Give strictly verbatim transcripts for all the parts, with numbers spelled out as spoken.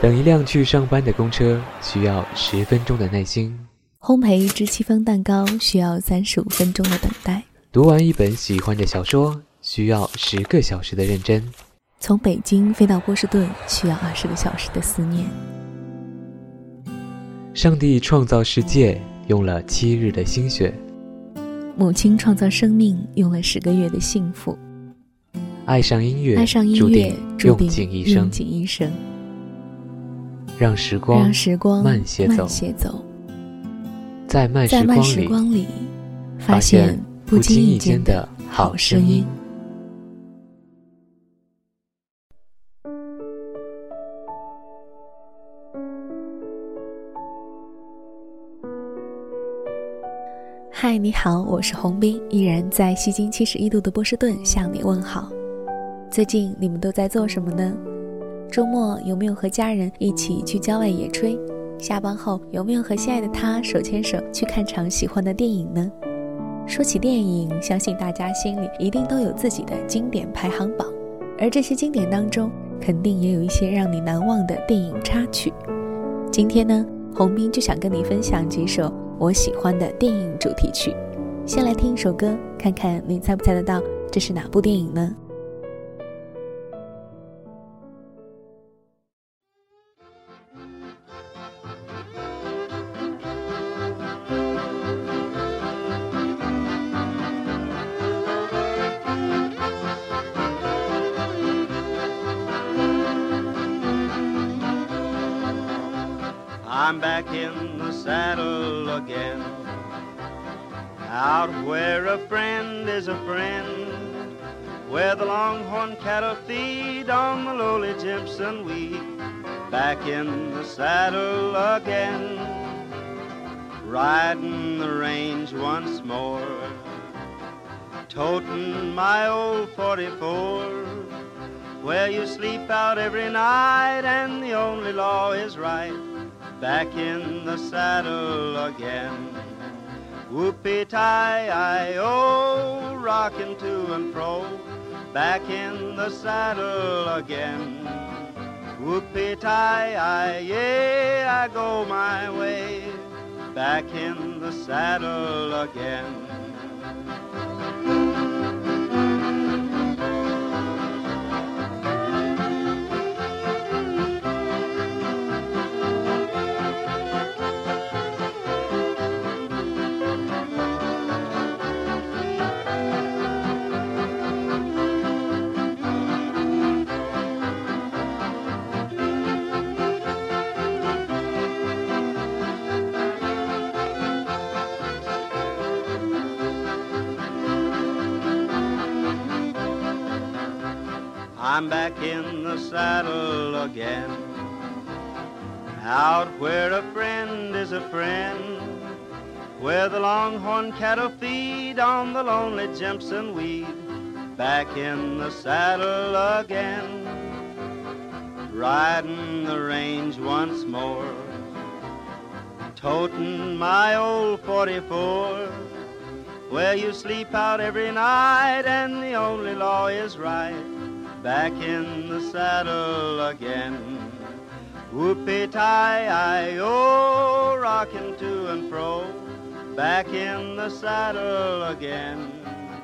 等一辆去上班的公车需要十分钟的耐心， 烘焙一只戚风蛋糕需要三十五分钟的等待， 读完一本喜欢的小说需要十个小时的认真， 从北京飞到波士顿需要二十个小时的思念。 上帝创造世界用了七日的心血， 母亲创造生命用了十个月的幸福。 爱上音乐， 爱上音乐注定用尽一生。 用尽一生。 让时光让时光慢些走， 慢些走在慢在慢时光里时光里发现不经意间的好声音。嗨，你好，我是洪斌，依然在西经七十一度的波士顿向你问好。最近你们都在做什么呢？周末有没有和家人一起去郊外野炊？下班后有没有和心爱的他手牵手去看场喜欢的电影呢？说起电影，相信大家心里一定都有自己的经典排行榜，而这些经典当中肯定也有一些让你难忘的电影插曲。今天呢，洪斌就想跟你分享几首我喜欢的电影主题曲。先来听一首歌，看看你猜不猜得到这是哪部电影呢 ？I'm back in the saddle again, out where a friend is a friend, where the longhorn cattle feed on the lowly Jimson weed. Back in the saddle again, riding the range once more, toting my old forty-four, where you sleep out every night and the only law is right. Back in the saddle again, whoopee-tie-I-O, rocking to and fro. Back in the saddle again, whoopee-tie-I, I go my way. Back in the saddle again. I'm back in the saddle again, out where a friend is a friend, where the longhorn cattle feed on the lonely Jimson weed. Back in the saddle again, riding the range once more, toting my old forty-four, where you sleep out every night and the only law is right. Back in the saddle again, whoopee-tie-I-O, rocking to and fro. Back in the saddle again,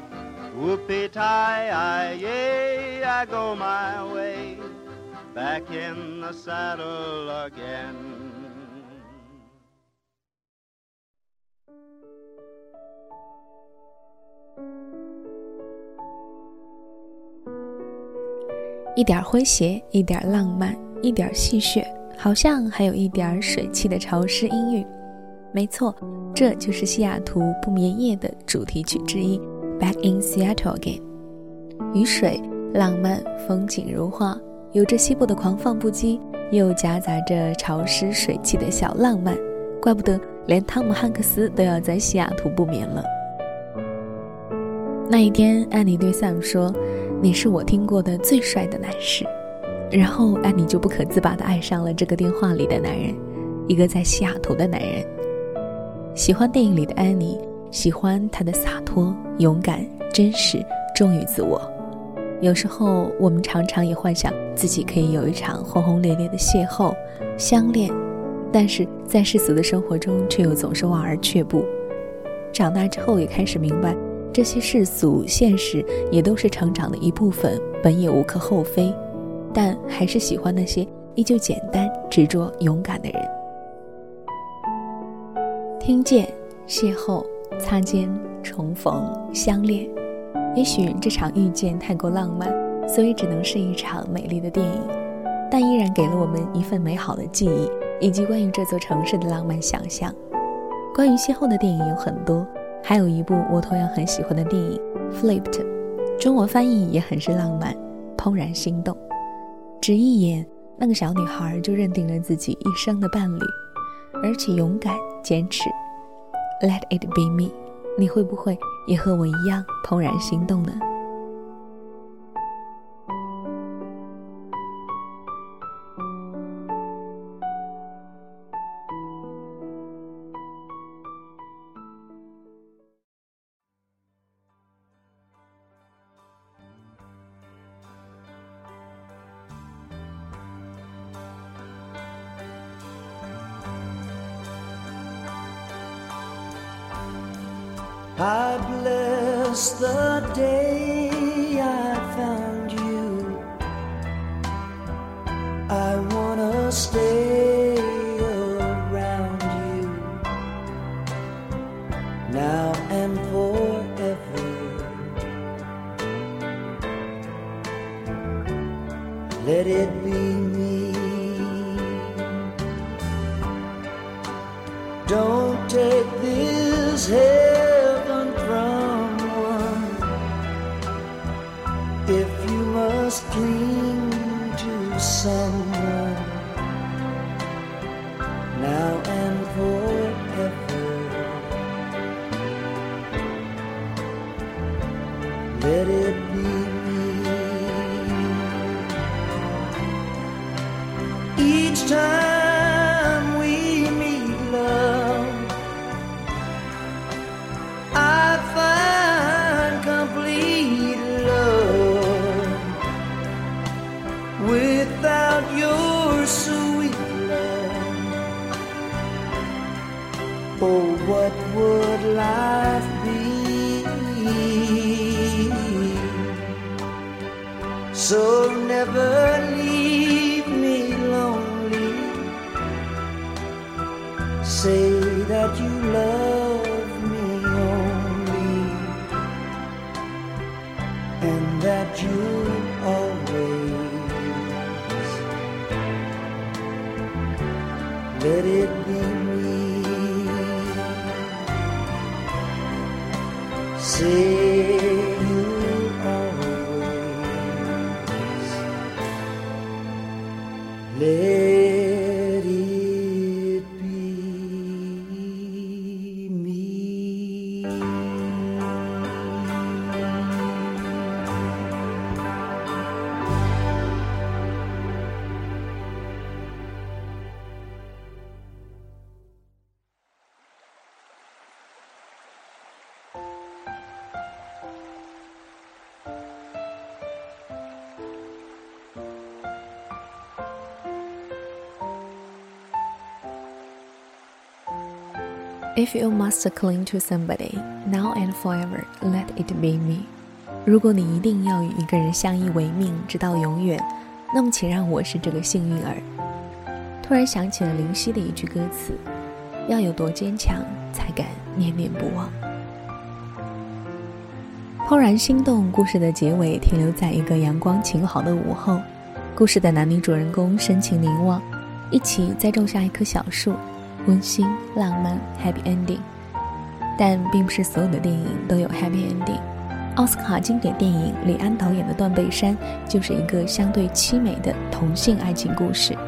whoopee-tie-I, I go my way. Back in the saddle again. 一点诙谐，一点浪漫，一点戏谑，好像还有一点水汽的潮湿音韵。没错，这就是西雅图不眠夜的主题曲之一 Back in Seattle Again。 雨水、浪漫、风景如画，有着西部的狂放不羁，又夹杂着潮湿水汽的小浪漫，怪不得连汤姆汉克斯都要在西雅图不眠了。那一天，安妮对 Sam 说，你是我听过的最帅的男士。然后安妮就不可自拔地爱上了这个电话里的男人，一个在西雅图的男人。喜欢电影里的安妮，喜欢他的洒脱、勇敢、真实、忠于自我。 有时候我们常常也幻想自己可以有一场轰轰烈烈的邂逅、相恋，但是在世俗的生活中却又总是望而却步。长大之后也开始明白，这些世俗现实也都是成长的一部分，本也无可厚非，但还是喜欢那些依旧简单、执着、勇敢的人。听见、邂逅、擦肩、重逢、相恋，也许这场遇见太过浪漫，所以只能是一场美丽的电影，但依然给了我们一份美好的记忆，以及关于这座城市的浪漫想象。关于邂逅的电影有很多，还有一部我同样很喜欢的电影 Flipped， 中文翻译也很是浪漫，怦然心动。只一眼，那个小女孩就认定了自己一生的伴侣，而且勇敢坚持。 Let it be me， 你会不会也和我一样怦然心动呢？ I bless the day I found you. I wanna stay around you now and forever. Let it be me. Don't take this heaven from one if you must cling to someone now and forever. Let it be me. Each time we meet, love, I find complete love. Without your sweet love, oh, what would life be? So never leave me lonely. Say that you love me only, and that you always let it be me. Say you always let If you must cling to somebody, now and forever, let it be me. 如果你一定要与一个人相依为命，直到永远，那么请让我是这个幸运儿。突然想起了林夕的一句歌词：要有多坚强，才敢念念不忘。怦然心动故事的结尾停留在一个阳光晴好的午后，故事的男女主人公深情凝望，一起栽种下一棵小树，温馨浪漫 happy ending。 但并不是所有的电影都有 happy ending。 奥斯卡经典电影李安导演的《断背山》就是一个相对凄美的同性爱情故事。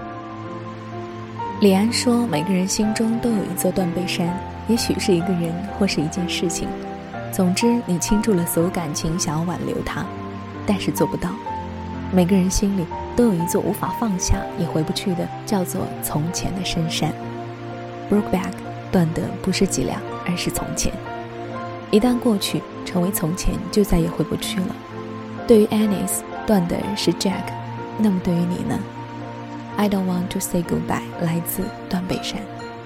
李安说，每个人心中都有一座断背山，也许是一个人或是一件事情，总之你倾注了所有感情想要挽留它，但是做不到。每个人心里都有一座无法放下也回不去的叫做从前的深山。 Brokeback 断的不是脊梁，而是从前。一旦过去成为从前，就再也回不去了。 对于 Anis 断的是 Jack， 那么对于你呢？ I don't want to say goodbye 来自断背山。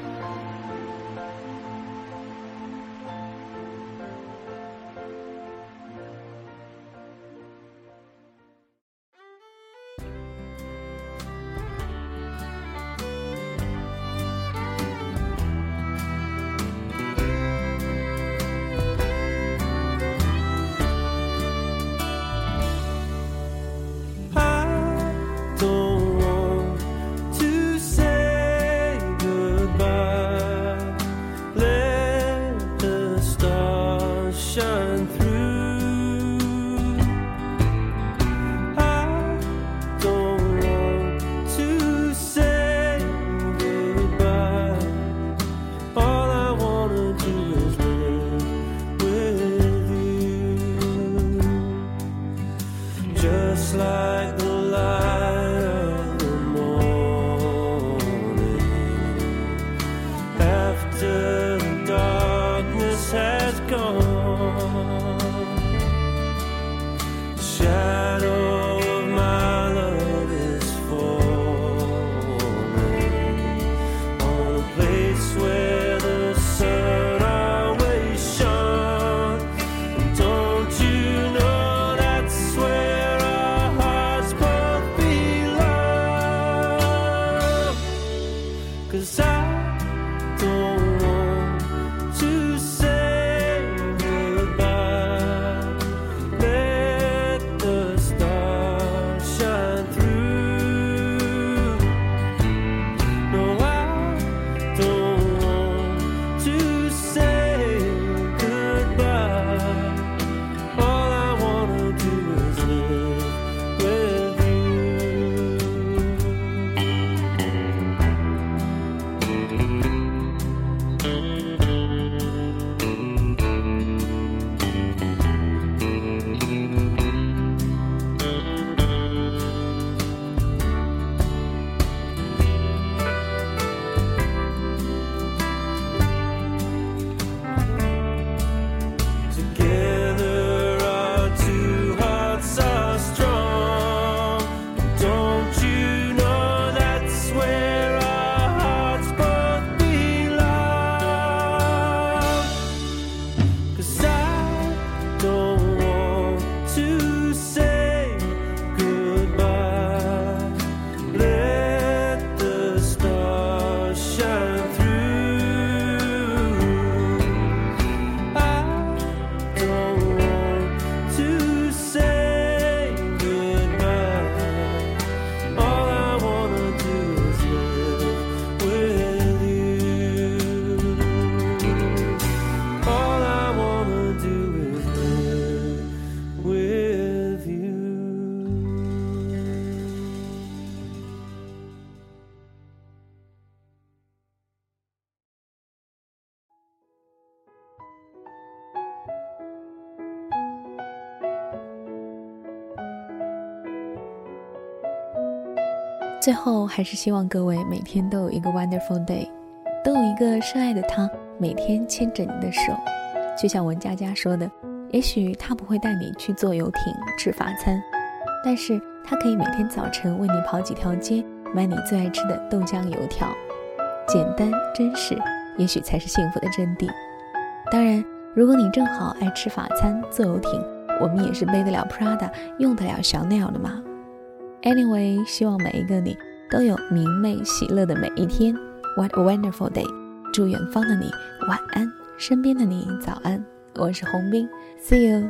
最后还是希望各位每天都有一个 wonderful day， 都有一个深爱的他每天牵着你的手。就像文佳佳说的，也许他不会带你去坐游艇吃法餐，但是他可以每天早晨为你跑几条街，买你最爱吃的豆浆油条。简单真实，也许才是幸福的真谛。当然，如果你正好爱吃法餐坐游艇，我们也是背得了 Prada 用得了Chanel的嘛。Anyway， 希望每一个你都有明媚喜乐的每一天。 What a wonderful day， 祝远方的你晚安，身边的你早安。我是洪斌， See you。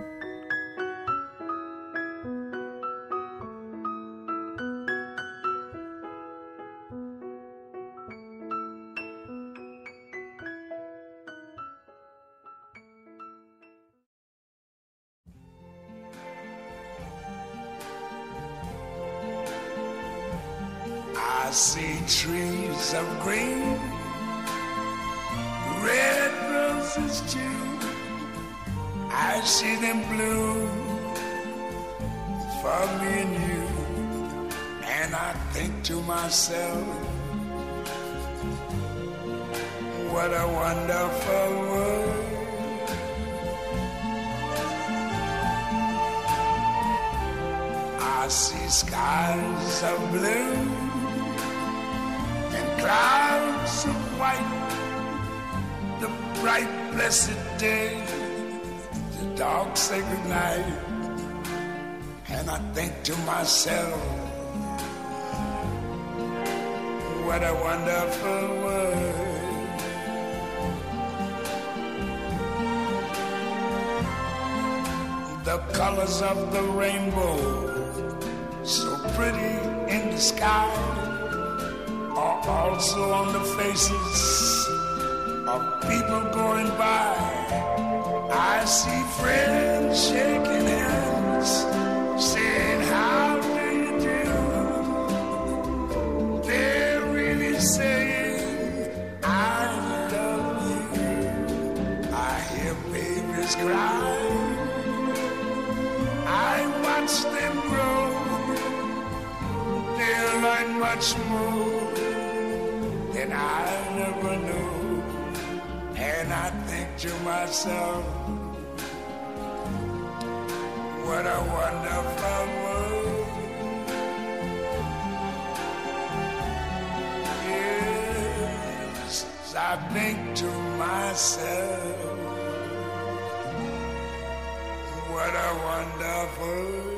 I see trees of green, red roses too. I see them bloom for me and you. And I think to myself, what a wonderful world. I see skies of blue and clouds of white, the bright blessed day, the dark sacred night. And I think to myself, what a wonderful world. The colors of the rainbow, so pretty in the sky, are also on the faces of people going by. I see friends shaking hands, saying, how do you do? They're really saying, I love you. I hear babies cry, I watch them grow. They'll learn much more than I never knew. And I think to myself, what a wonderful world. Yes, I think to myself, what a wonderful